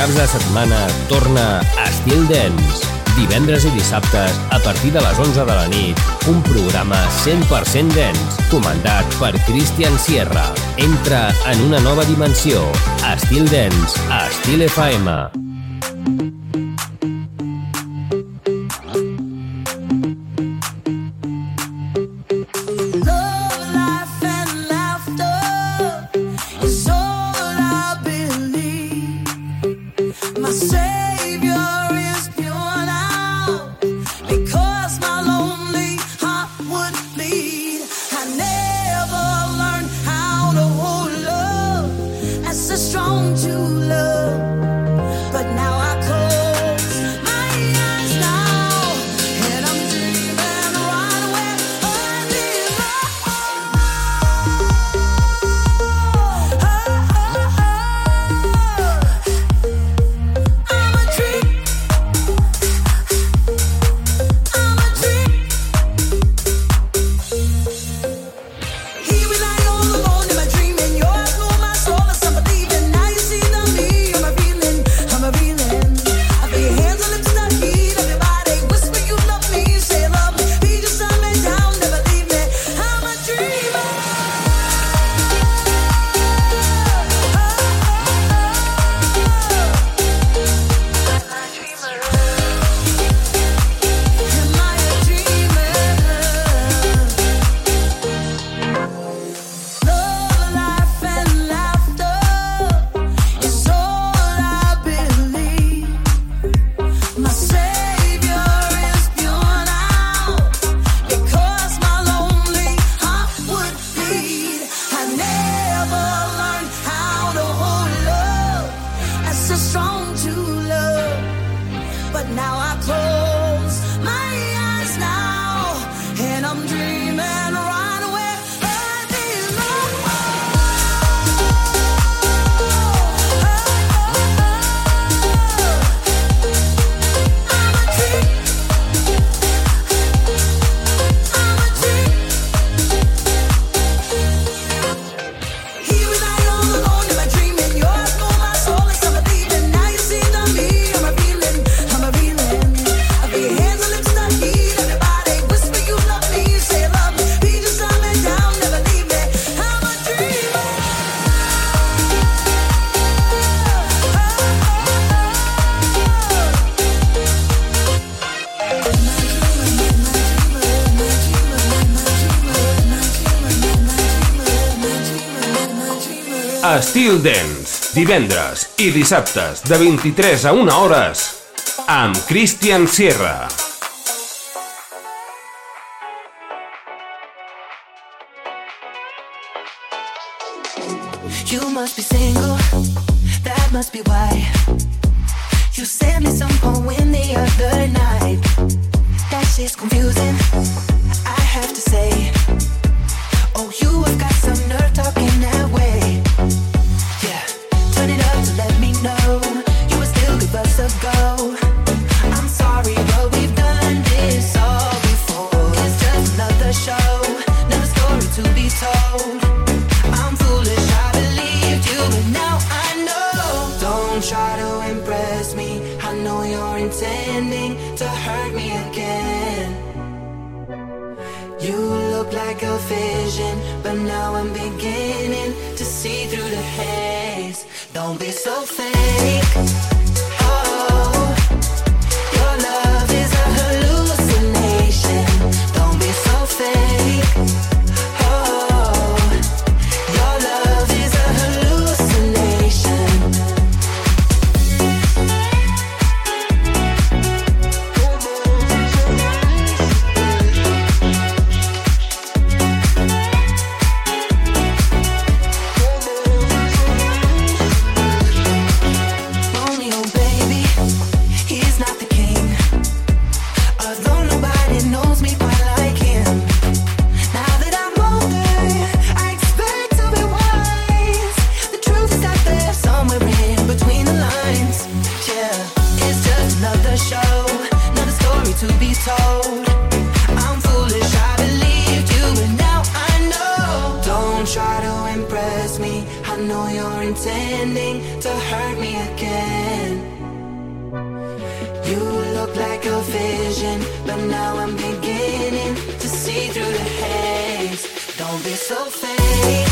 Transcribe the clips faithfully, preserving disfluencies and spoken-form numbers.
caps de setmana torna Estil Dance. Divendres i dissabtes, a partir de les onze de la nit, un programa cent per cent dance, comandat per Christian Sierra. Entra en una nova dimensió. Estil Dance, a Estil F M. Estil Dance, divendres i dissabtes de vint-i-tres a una hores amb Christian Sierra. You must be single, that must be why you sent me some poem the other night. That shit's confusing, I have to say. Oh, you have got some nerve talking that way. Yeah, turn it up to let me know you would still give us a go. I'm sorry, but we've done this all before. It's just another show, another story to be told. I'm foolish, I believed you, but now I know. Don't try to impress me, I know you're intending to hurt me again. You look like a vision, but now I'm beginning to see through the haze. Don't be so fake. Oh, your love is a hallucination. Don't be so fake. Oh, your love is a hallucination. Only pretending to hurt me again. You look like a vision, but now I'm beginning to see through the haze. Don't be so fake.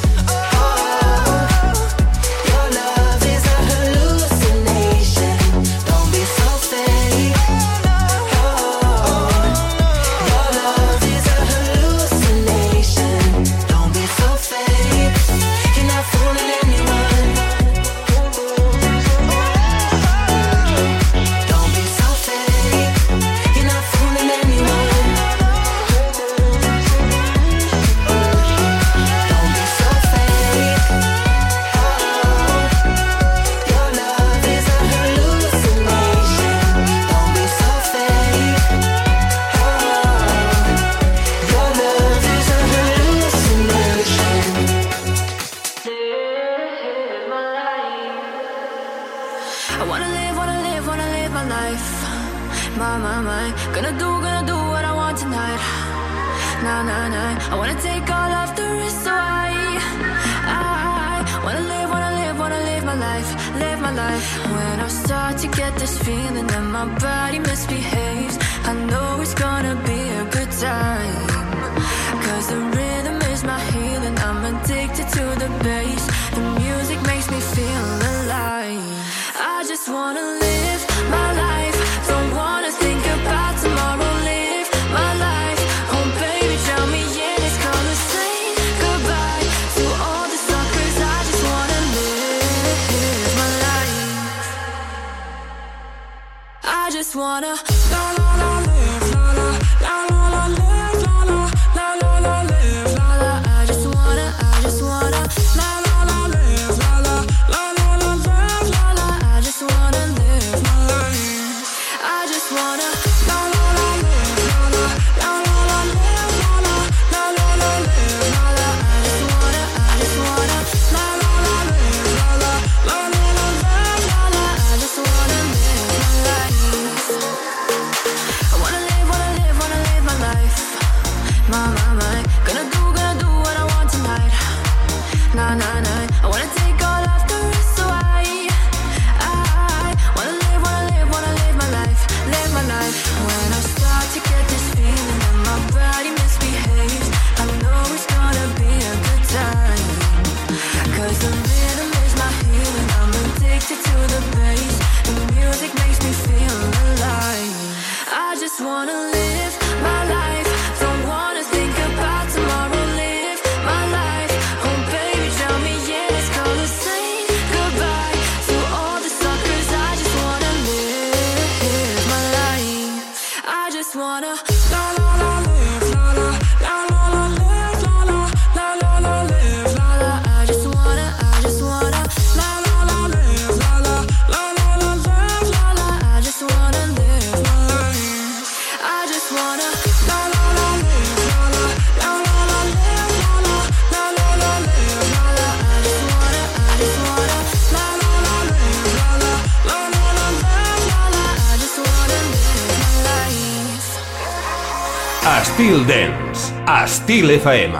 Estil Dance, Estil F M.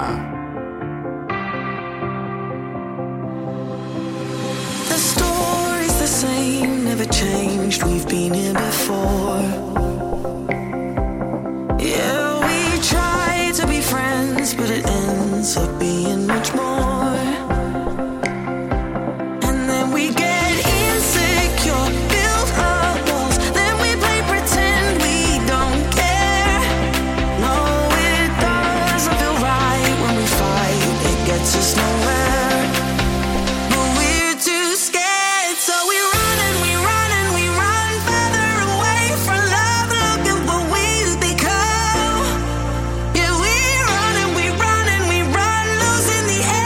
The story's the same, never changed, we've been here before. Yeah, we try to be friends, but it ends up being much more. And then we get insecure, build up walls, then we play pretend we don't care. No, it doesn't feel right when we fight, it gets us nowhere. But we're too scared, so we run and we run and we run further away from love. Look at what we've become. Yeah, we run and we run and we run, losing the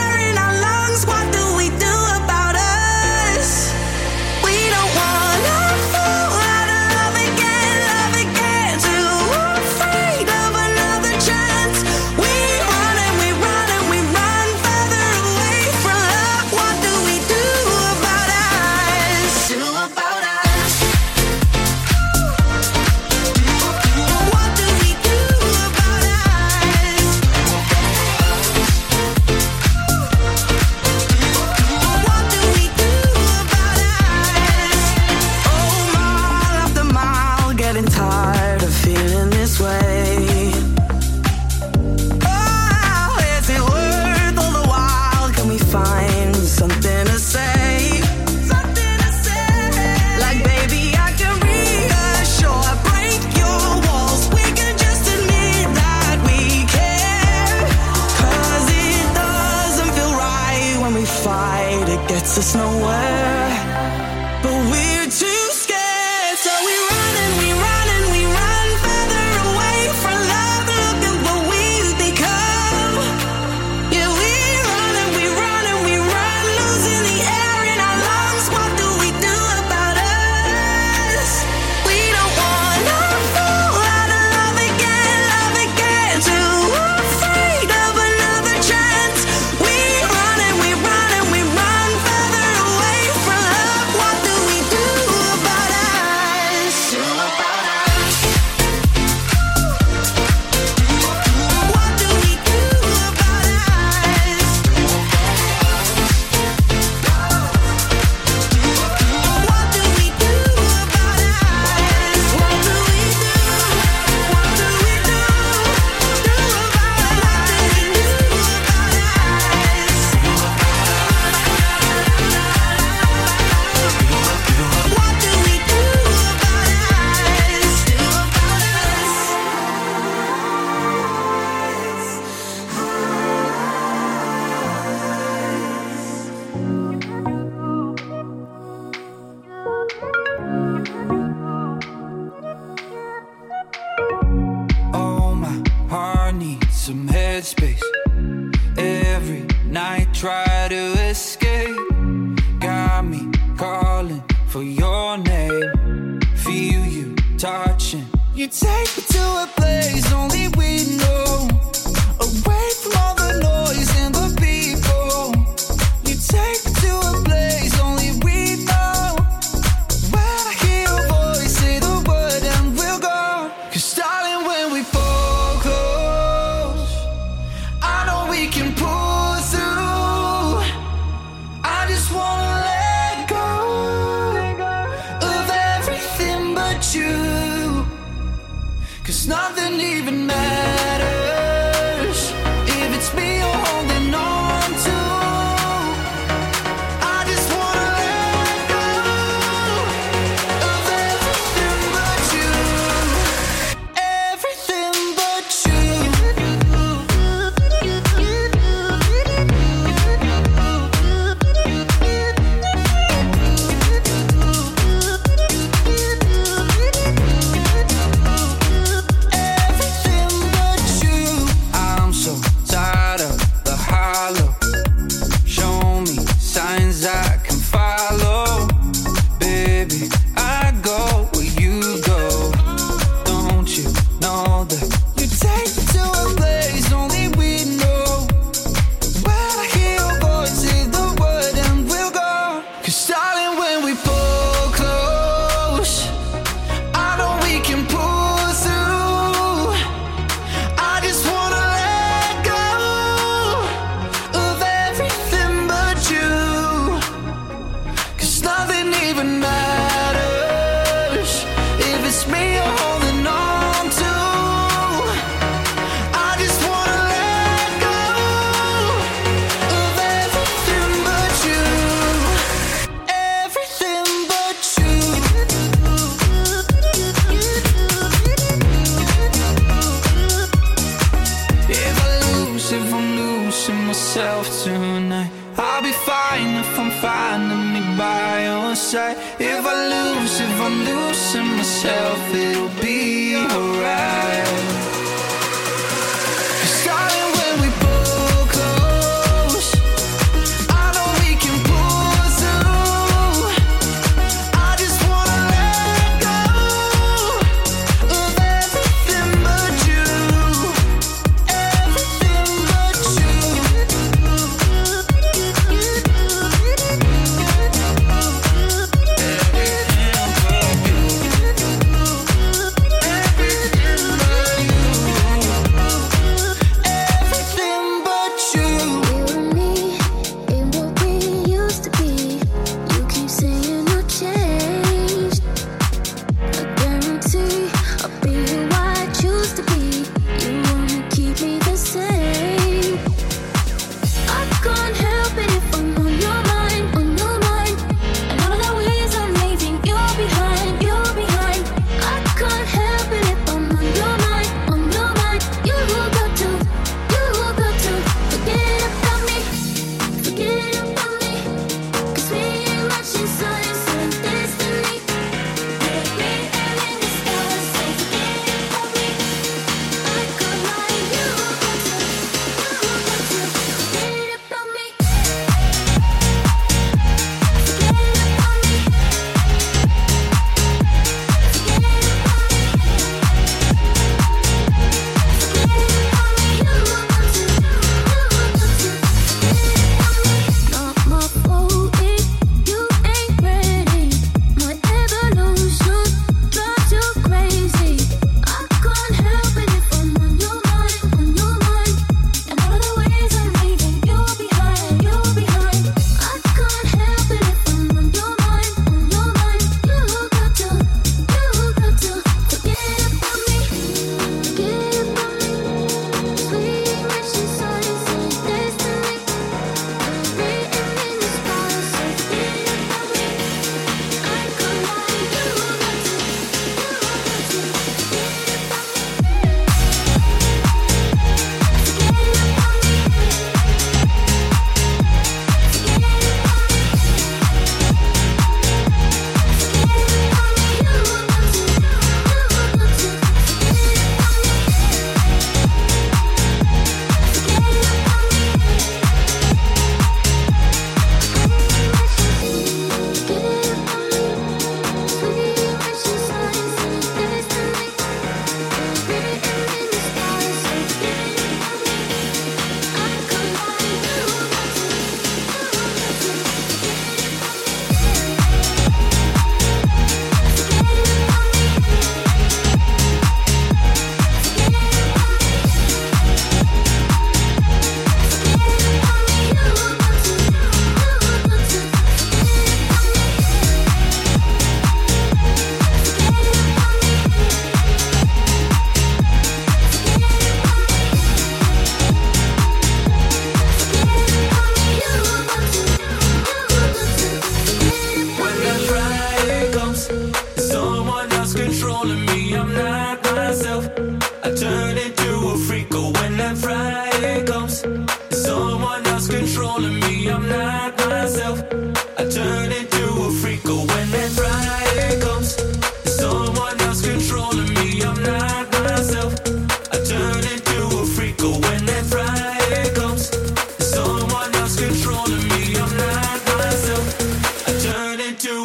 me calling for your name. Feel you touching. You take me to a place only we know, away from all the noise and the people. You take me to a place only we know. When I hear your voice, say the word and we'll go. 'Cause darling, when we fall close, I know we can pull through. I just wanna let go of everything but you. 'Cause nothing even matters if it's me you're holding on to. I just wanna let go of everything but you. Everything but you. If I lose, if I'm losing myself, it'll be alright. 'Cause darling, when we pull close, I know we can pull through. I just wanna let go of everything but you. Everything but you. Not my fault if you ain't ready.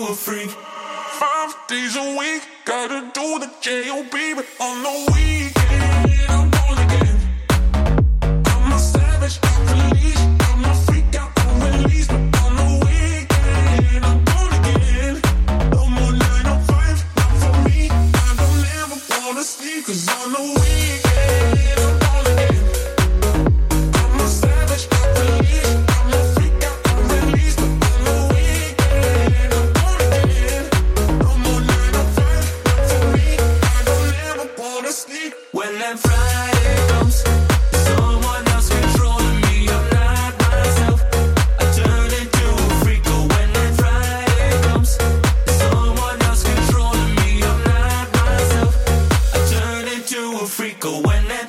a freak. Five days a week, gotta do the J O B, but on the weekend I'm born again. I'm a savage, off the leash. I'm a freak out on release, but on the weekend I'm born again. No more nine to five, not for me. I don't ever wanna sleep, 'cause on the weekend I'm born again. I'm a savage, off the leash. I'm a freak out on release, but on the weekend I'm born again. No more nine to five, not for me. I don't ever wanna sleep. When that Friday comes, someone else controlling me. I'm not myself. I turn into a freak. Oh, when that Friday comes, someone else controlling me. I'm not myself. I turn into a freak. Oh, when that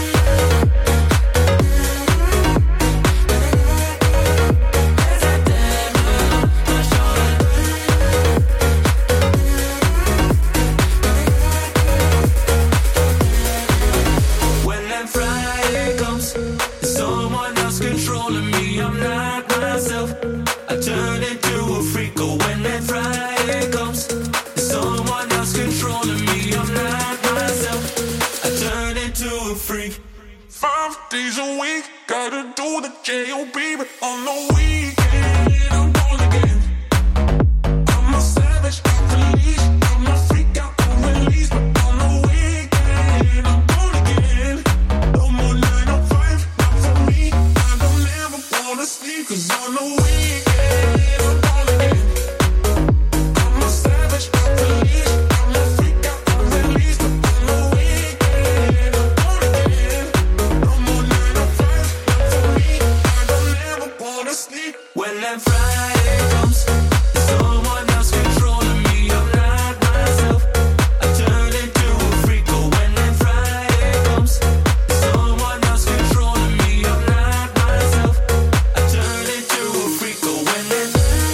When that Friday comes, someone else controlling me. I'm not myself. I turn into a freak. Oh, when that Friday comes, someone else controlling me. I'm not myself. I turn into a freak. Five days a week, gotta do the J O B, but on the weekend I'm born again. I'm a savage, off the leash. I'm a freak out on release, but on the weekend I'm born again. No more nine to five, not for me. I don't ever wanna sleep, 'cause on the weekend I'm born again. I'm a savage, off the leash. I'm a freak out on release, but on the weekend I'm born again. No more nine to five, not for me. I don't ever wanna sleep. When that Friday comes, someone else controlling me. I'm not myself. I turn into a freak. Oh, when that Friday comes, someone else controlling me. I'm not myself. I turn into a freak. Oh, when that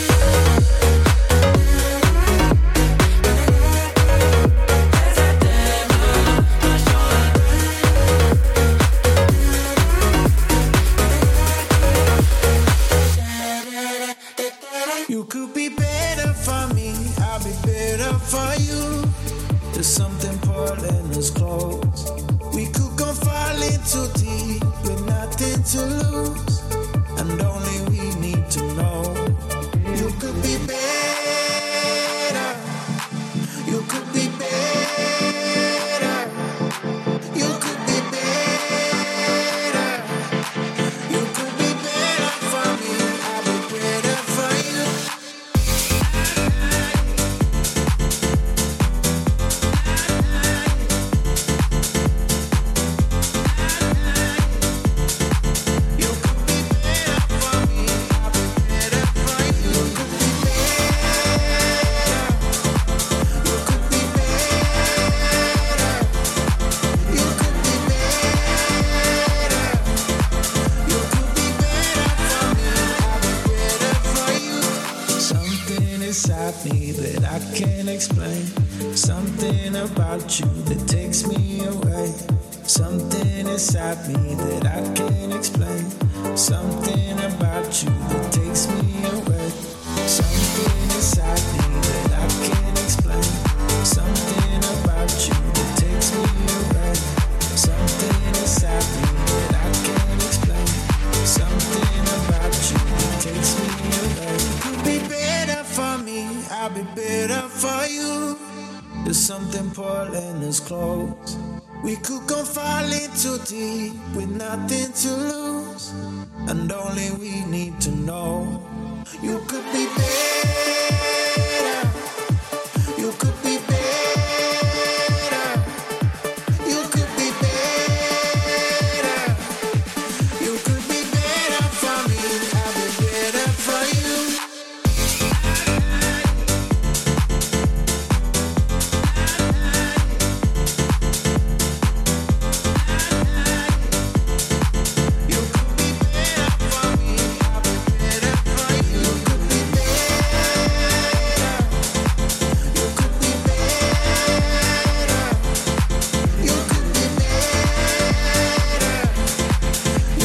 You could be better for me, I'll be better for you. There's something pulling us close. We could go falling too deep with nothing to lose, and only we need to know. You could be better. You could be better. You could be better. You could be better for me, I'll be better for you. You could be better for me, I'll be better for you. You could be better. You could be better. You could be better. You could be better for me, I'll be better for you. Something inside me that I can't explain. Something about you that takes me away. Something inside me that I can't explain. Something about you that takes me away. Something inside me that I can't explain. Something about you that takes me away. Something inside me that I can't explain. Something about you that takes me away. You'll be better for me, I'll be better for you. There's something pulling us close. We could go falling too deep with nothing to lose, and only we need to know. You could be better. You could be better. You could be better. You could be better for me, I'll be better for you. You could be better for me, I'll be better for you. You could be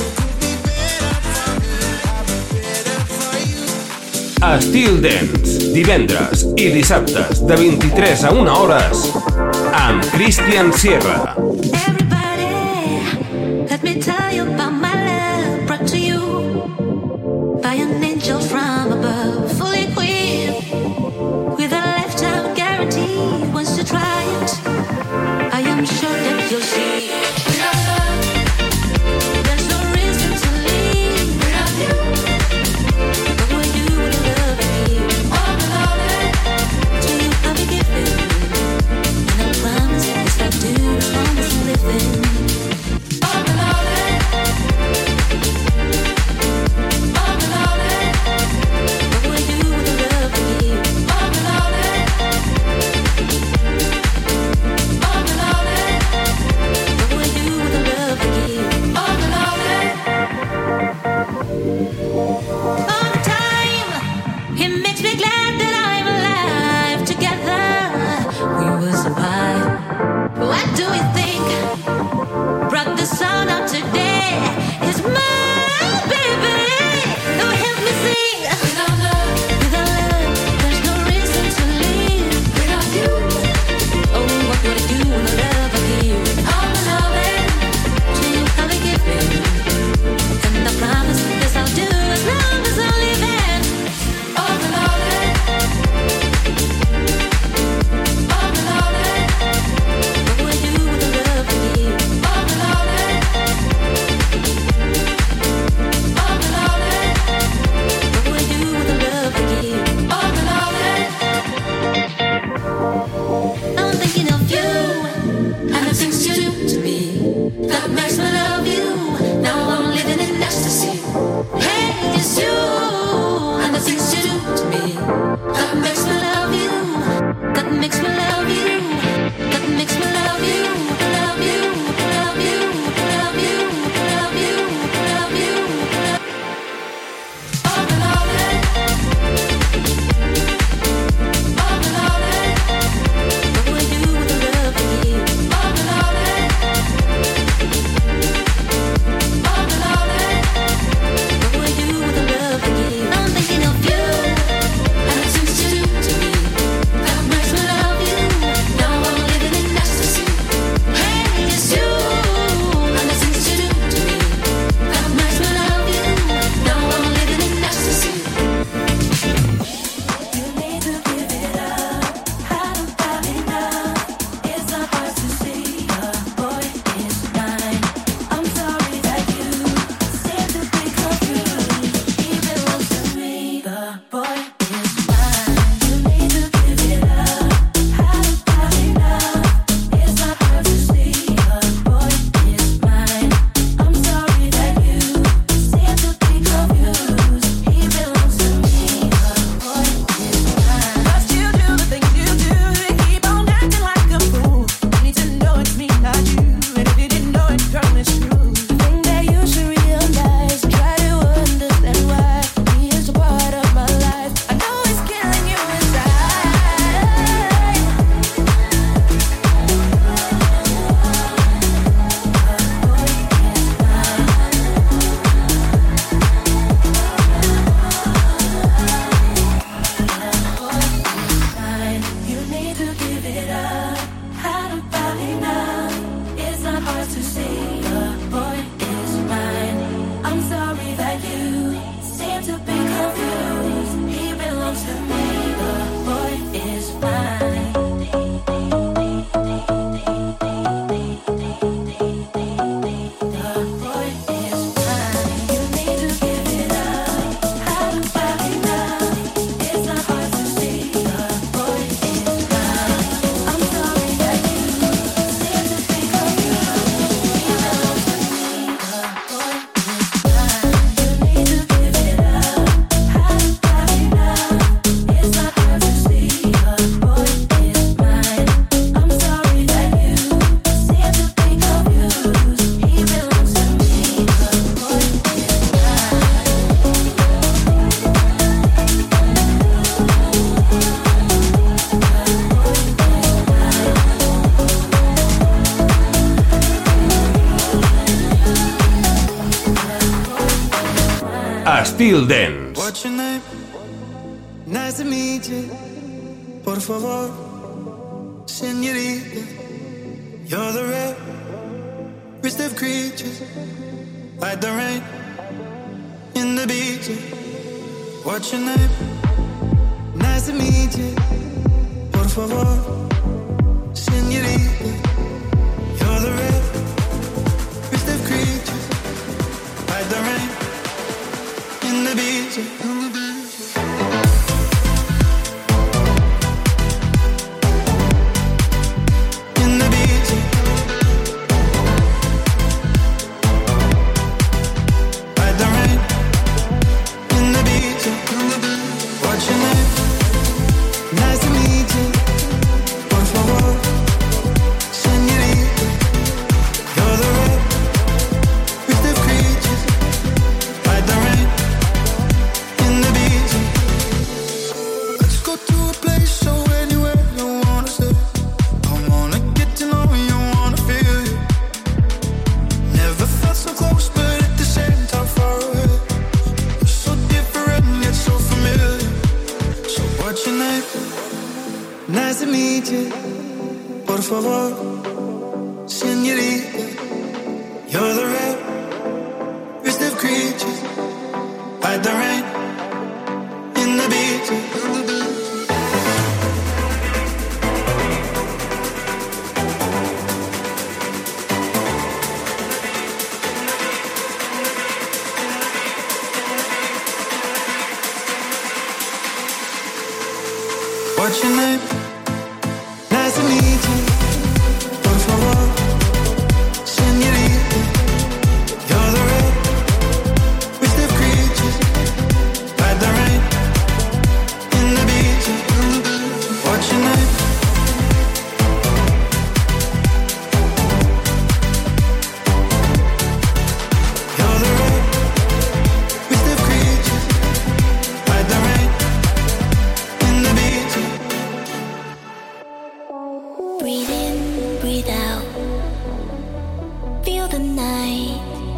Estil Dance, divendres i dissabtes de vint-i-tres a una hores amb Christian Sierra. Everybody, let me tell you about my love brought to you by an angel from above, fully equipped with a lifetime guarantee. Once you try it, I am sure that you'll see. Without love, there's no reason to leave. Without you, what will I do with the love I give? All the love to you I'll be giving, and I promise yes I do, as long as I'm living. All the love, all the love, what will I do with the love I give? All the love, all the love, what will I do with the love I give? All the love, all the time, it makes me glad that I'm alive. Together, we will survive. What do you think brought the sun out today? It's my baby who helped me sing. Without love, without love, there's no reason to live. Without you, oh, what would I do with the love I give? All the loving to you I'll be giving, and I promise this I'll do as long as I'm living. All the loving, all the loving, what would I do with the love I give? All the loving, all the loving, what would I do with the love I give? All the loving, I'm thinking of you and the things you do to me that makes me love you. Now I'm living in ecstasy. Hey, it's you and the things you do to me that makes me love you. That makes me love you. That makes me love you. Love you. Love you. Love you. Love you. Love you. All the loving, all the loving, what will I do with the love I give? All the loving, all the loving, what will I do with the love I give? I'm thinking of you and the things you do to me that makes me love you. Now I'm living in ecstasy. Hey, it's you and the things you do to me that makes me love you. Now I'm living in ecstasy. You need to give it up. How about it now? It's not hard to see. The boy is mine. I'm sorry that you seem to be confused. He belongs to me. The boy is mine. You need to give it up. How about it now? It's not hard to see. The boy is mine. I'm sorry that you seem to be confused. He belongs to me. The boy is mine. But you do the things you do. You keep on acting like a fool. You need to know it's me, not you. And if you didn't know it, girl, it's true. The thing that you should realize, try to understand why he is a part of my life. I know it's killing you inside. You need to give it up. How about it now? It's not hard to see. The boy is mine. I'm sorry that you seem to be confused. He belongs to me. The boy is mine. The boy is mine. You need to give it up. How about it now? It's not hard to see. The boy is mine. I'm sorry that you seem to be confused. He belongs to me. The boy is mine. You need to give it up. How about it now? It's not hard to see. The boy is mine. I'm sorry that you seem to be confused. He belongs to me. The boy is Estil Dance. What's your name? Nice Nice to meet you. Por favor, señorita. You're the rarest of creatures, like the rain in the beach. What's your name? Nice to meet you. Por favor, señorita. You're the rarest of creatures, like the rain in the beach. What's your name? Nice to meet you. Por favor, señorita. You're the rarest of creatures, like the rain in the beach. What's your name? You're the rarest of creatures, like the rain in the beach. Breathe in, breathe out. Feel the night.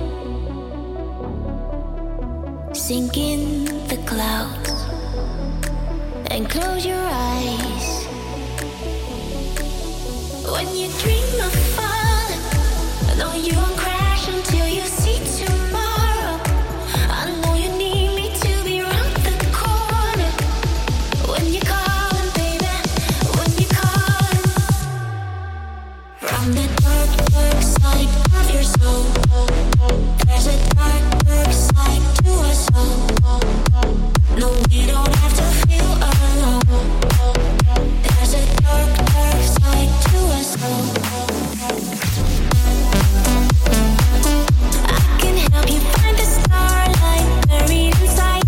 Sink in the clouds and close your eyes. When you dream of falling, no, you won't crash until you see tomorrow. I know you need me to be round the corner. When you're calling, baby, when you're calling. From the dark, dark side of your soul, there's a dark, dark side to us all. No, we don't have to feel alone. There's a dark, dark side to us all. I can help you find the starlight buried inside.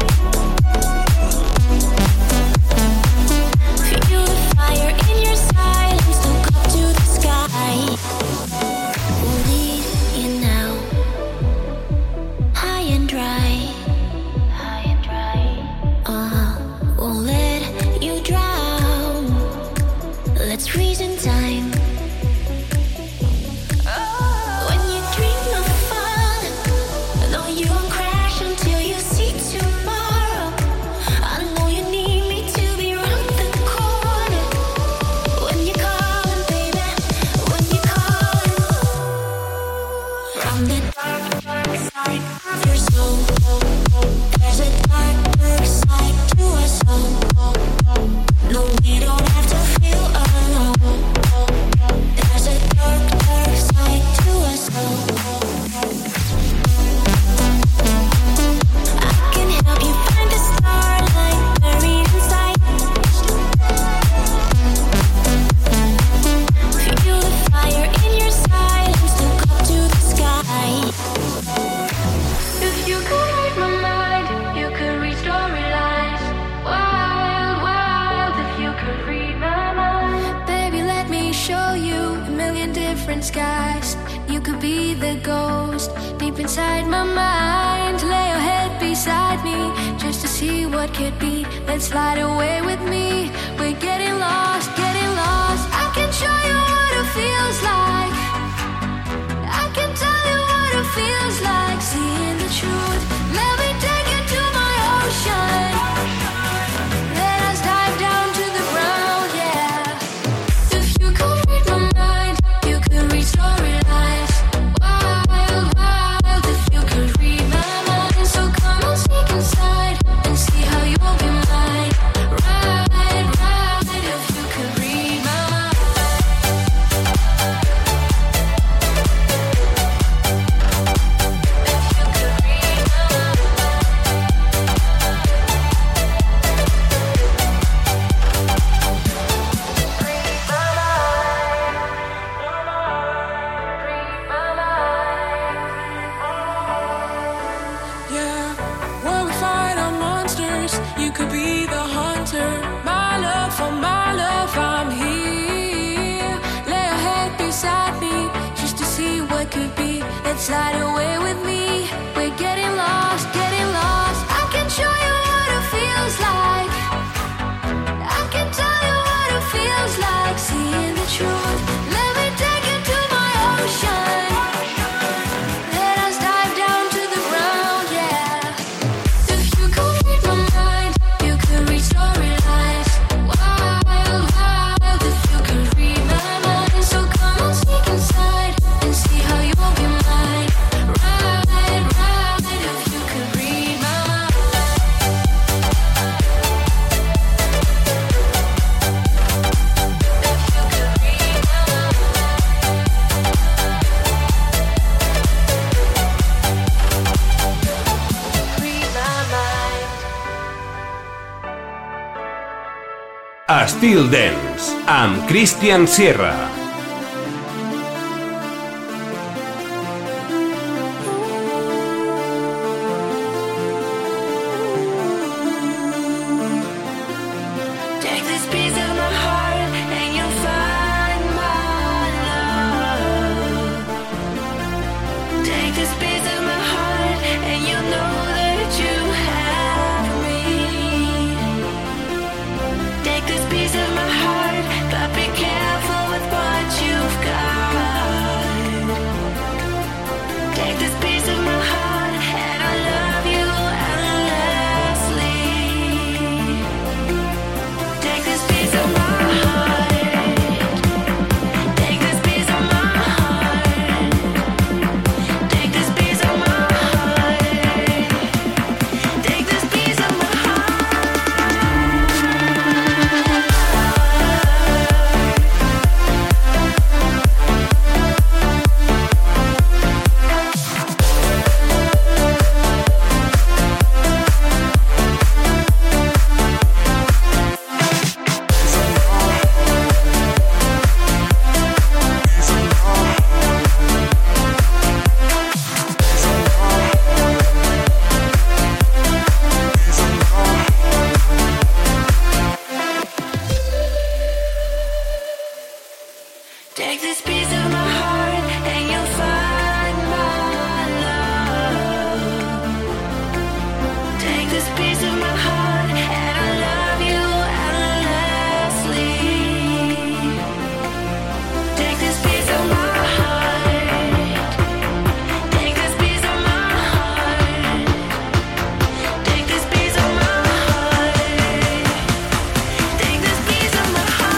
Feel the fire in your silence, look up to the sky. We'll lead you now, high and dry. High and dry. Uh-huh. Won't let you drown. Let's freeze in time. When you dream of falling, no, you won't crash until you see tomorrow. I know you need me to be round the corner. When you're calling, baby, when you're calling. From the dark, dark side of your soul, there's a dark, dark side to us all. No, we don't have to feel alone. There's a dark, dark side to us all. I can help you find the starlight buried inside. Feel the fire in your silence, look up to the sky. If you could read my mind, you could read storylines. Wild, wild, if you could read my mind. Baby, let me show you a million different skies. You could be the ghost deep inside my mind. Lay your head beside me just to see what could be. Let's slide away with me. We're getting lost, getting lost. I can show you what it feels like. I can tell you what it feels like. Seeing the truth. Let me take you to my ocean. Let Slide away with me. We're getting lost, getting lost. I can show you what it feels like. I can tell you what it feels like. Seeing the truth. Let me take you to my ocean. Let us dive down to the ground, yeah. If you could read my mind, you could read storylines. Wild, wild. If you could read my mind, so come on, sneak inside and see how you'll be mine. Ride, ride. If you could read my mind. Estil Dance, amb Christian Sierra. Take this piece of my heart and you'll find my love. Take this piece of my heart and you'll know that you have me. Take this piece of my heart, but be careful with what you've got. Take this piece of my heart and I love you endlessly. Take this piece of my heart. Take this piece of my heart. Take this piece of my heart. Take this piece of my Take this piece of my heart and you'll find my love. Take this piece of my heart and I love you endlessly. Take this piece of my heart. Take this piece of my heart. Take this piece of my heart. Take this piece of my heart.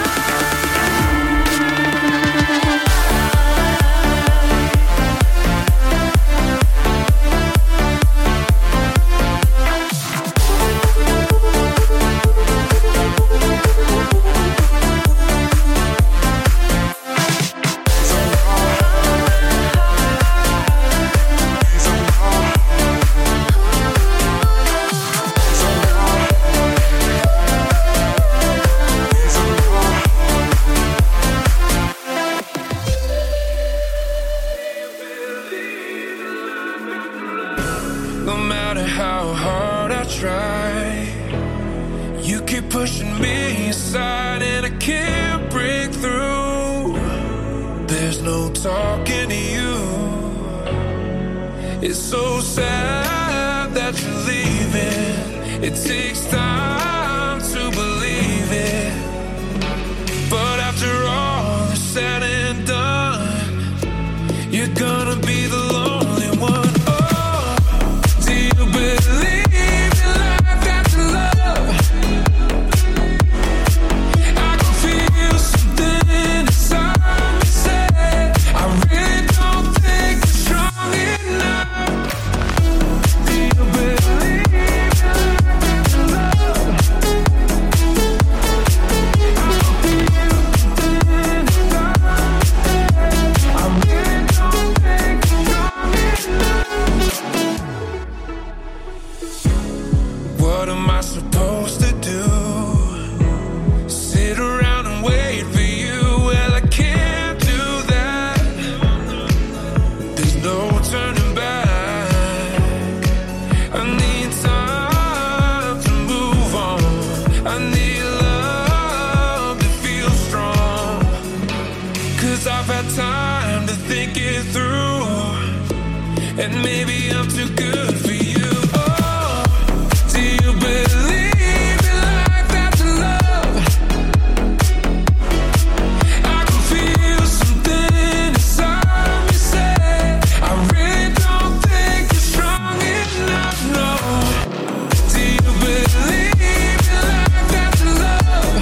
No matter how hard I try, you keep pushing me aside and I can't break through. There's no talking to you. It's so sad that you're leaving. It takes time to believe it. But after all is said and done, you're gonna be the lonely one. Oh, do you believe in life after love? I can feel something inside me say I really don't think you're strong enough. Do you believe in life after love? I can feel something inside me say I really don't think you're strong enough. What am I supposed to do? Sit around and wait for you? Well, I can't do that. There's no turning back. I need time to move on. I need love to feel strong. Cause I've had time to think it through. and maybe I'm too good for you. Oh, do you believe in life after love? I can feel something inside me say I really don't think you're strong enough, no. Do you believe in life after love?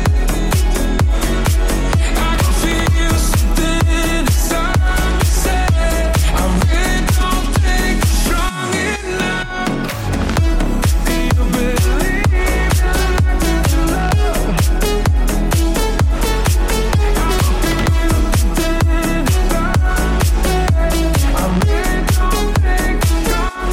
I can feel something inside me say I really don't think you're strong enough. Do you believe in life after love? I can feel something inside me say I really don't think you're strong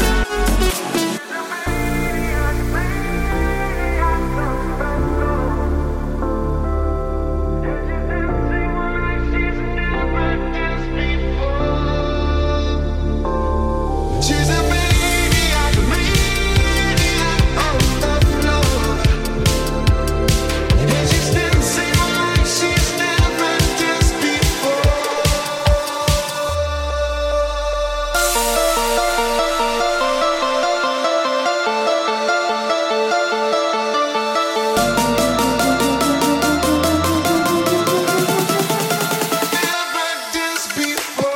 She's a maniac, maniac on the floor. And she's dancing like she's never danced before. Never danced before.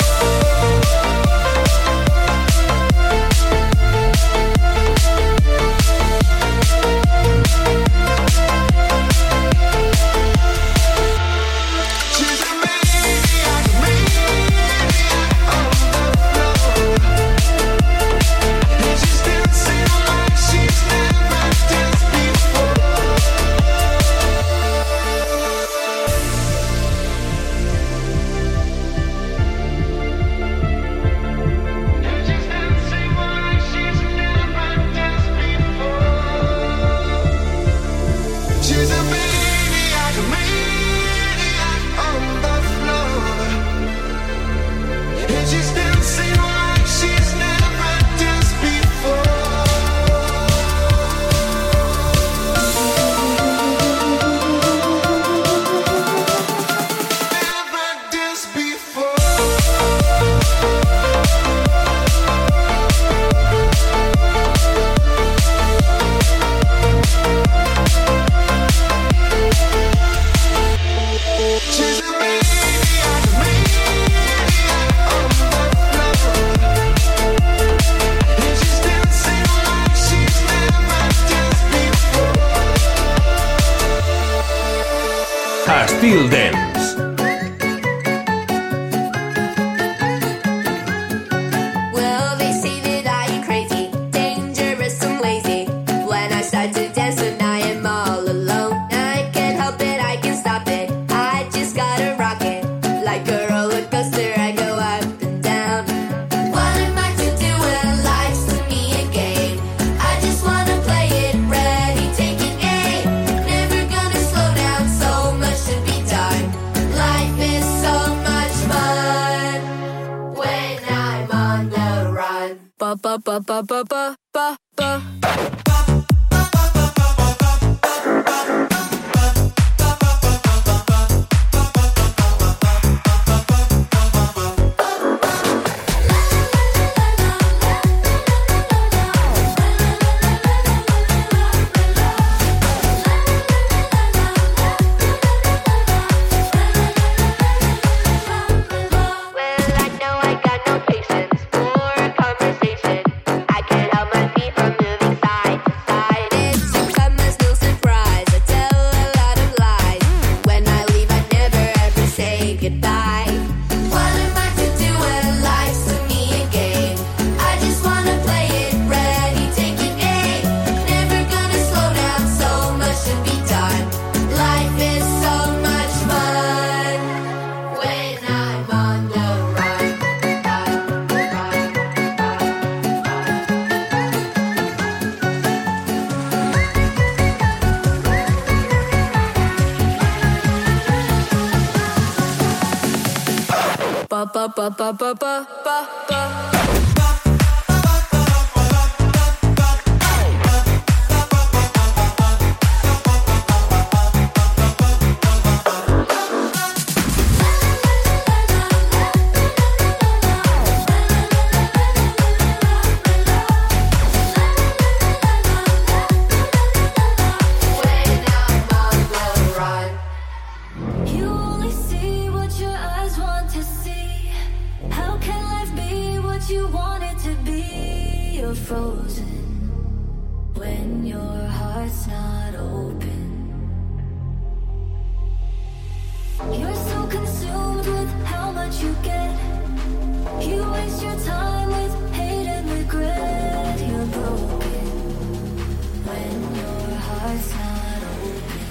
She's a maniac, maniac on the floor. And she's dancing like she's never danced before. And she's dancing like she's never danced before. She's a maniac, maniac on the floor. And she's dancing like she's never danced before. Never danced before. She's a maniac, maniac on the floor. And she's dancing like she's never danced before. Estil Dance. Well, they say that I am crazy, dangerous and lazy. When I start to dance, then I am all alone. I can't help it, I can't stop it. I just gotta rock it. Like a roller coaster, I go up and down. What am I to do when life's to me a game? I just wanna play it, ready, taking aim. Never gonna slow down, so much to be done. Life is so much fun when I'm on the run. Ba ba ba ba ba ba ba ba. Well, I know I got no patience for a conversation. I can't help my feet from moving side to side. It's a comes no surprise. I tell a lot of lies. When I leave, I never ever say goodbye. What am I to do when life's to me a game? I just wanna play it, ready, taking aim. Never gonna slow down, so much to be done. Life is so much fun when I'm on the run. Run, run, run. Ba ba ba ba ba ba ba ba. frozen when your heart's not open. You're so consumed with how much you get. You waste your time with hate and regret. You're broken when your heart's not open.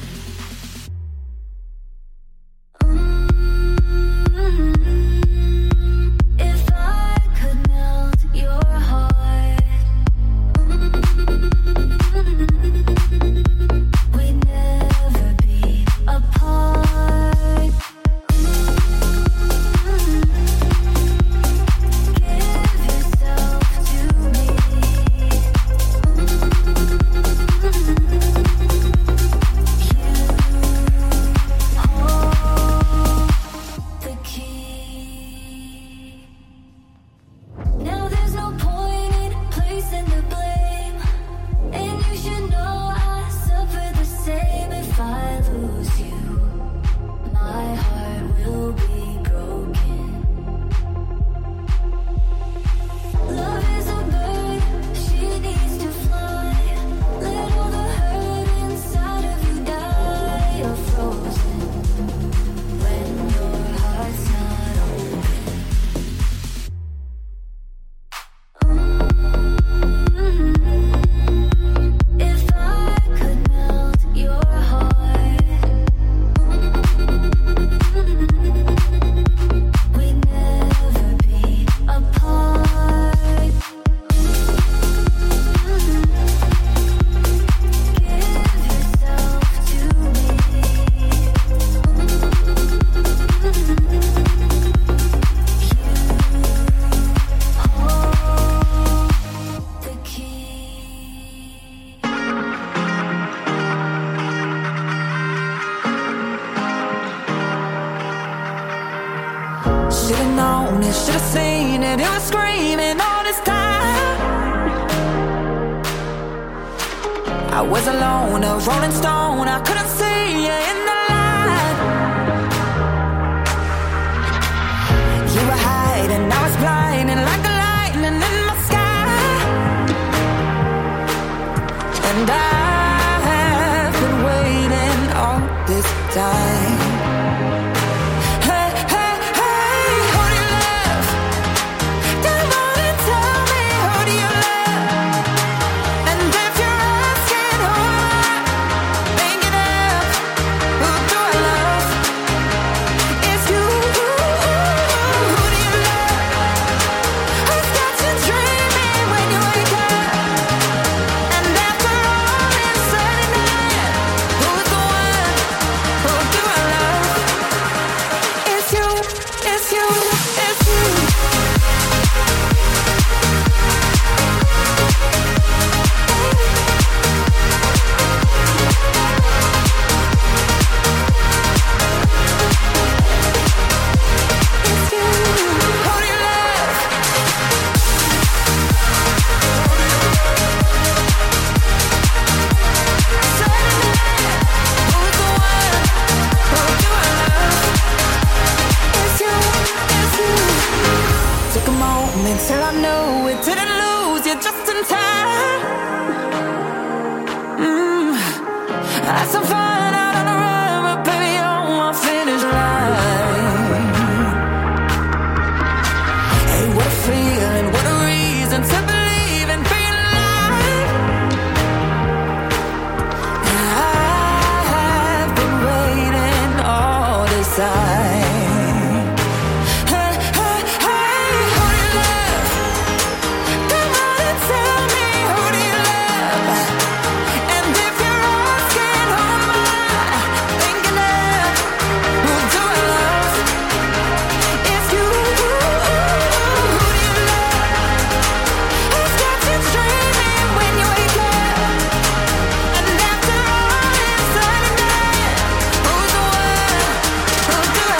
If I could melt your heart, we'd never be apart. Give yourself to me. You hold the key. Now there's no point in placing the blame, and you should know I suffer the same. If I lose you, my heart will be broken. Love is a bird, she needs to fly. Let all the hurt inside of you die. You're frozen when your heart's not open. If I could melt your heart, we'd never be apart. Give yourself to me. You hold the key. Should've known it, should've seen it. It was screaming all this time. I was alone, a rolling stone. I couldn't see you in the light. You were hiding, I was blinding like the lightning in my sky. And I have been waiting all this time. Hey, hey, hey, who do you love? Come on and tell me, who do you love? And if you're asking who am I thinking of, who do I love? It's you. Who do you love? Who's got you dreaming when you wake up? And after all is said and done, who's the one? Who do I love? It's you, it's you, it's you. It's you. Who do you love? Who's the one? Who do I love? It's you, it's you. Took a moment till I knew it. Didn't lose you just in time. Mm. Had some fun out on the run, but baby, you're my finish line. Hey, what a feeling, what a reason to believe in being alive. I have been waiting all this time. Hey, hey, hey, who do you love? Come on and tell me, who do you love? And if you're asking who am I thinking of, who do I love? It's you. Who do you love? Who's got you dreaming when you wake up? And after all is said and done, who's the one? Who do I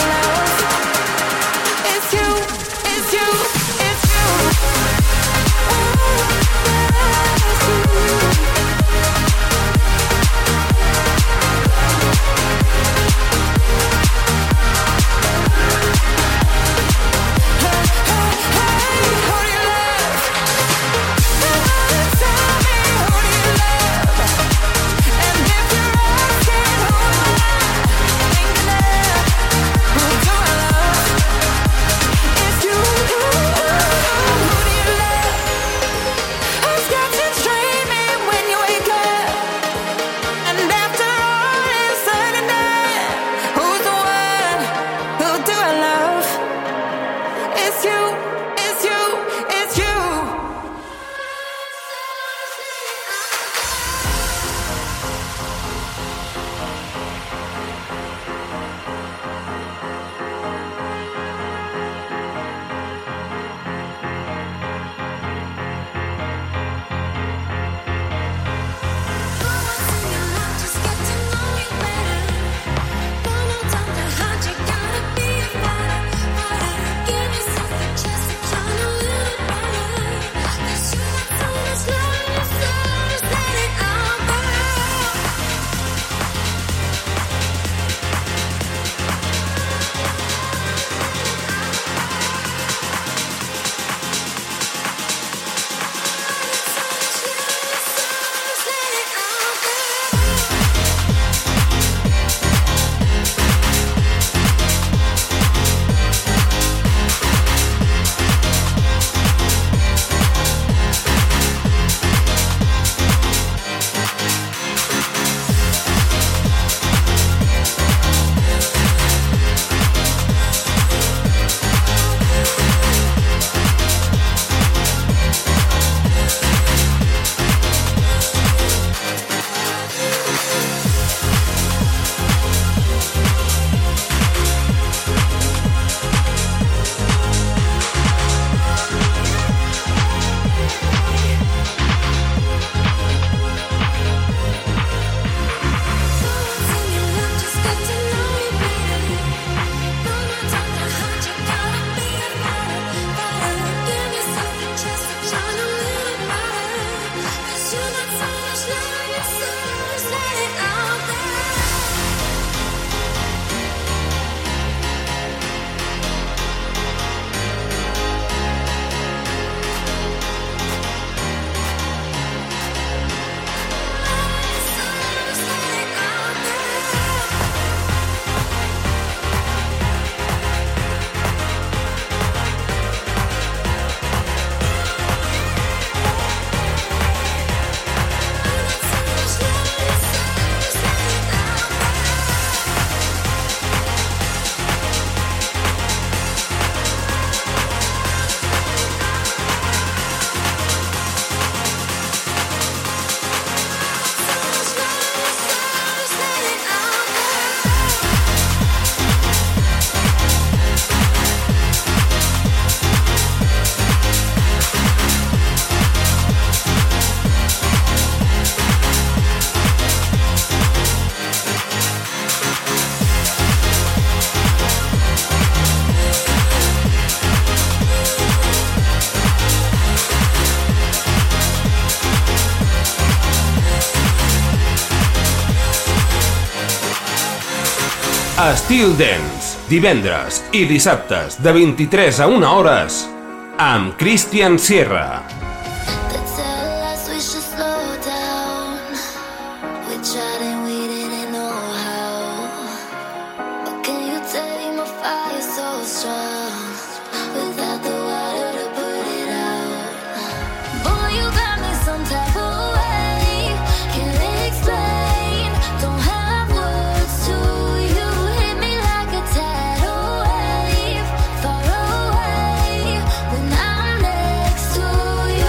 Estil Dance, divendres i dissabtes de vint-i-tres a una hores amb Christian Sierra. They tell us we should slow down. We tried and we didn't know how. But can you tame a fire so strong without the water to put it out? Boy, you got me some type of way. Can't explain. Don't have words to you. Hit me like a tidal wave. Far away when I'm next to you.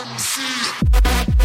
see.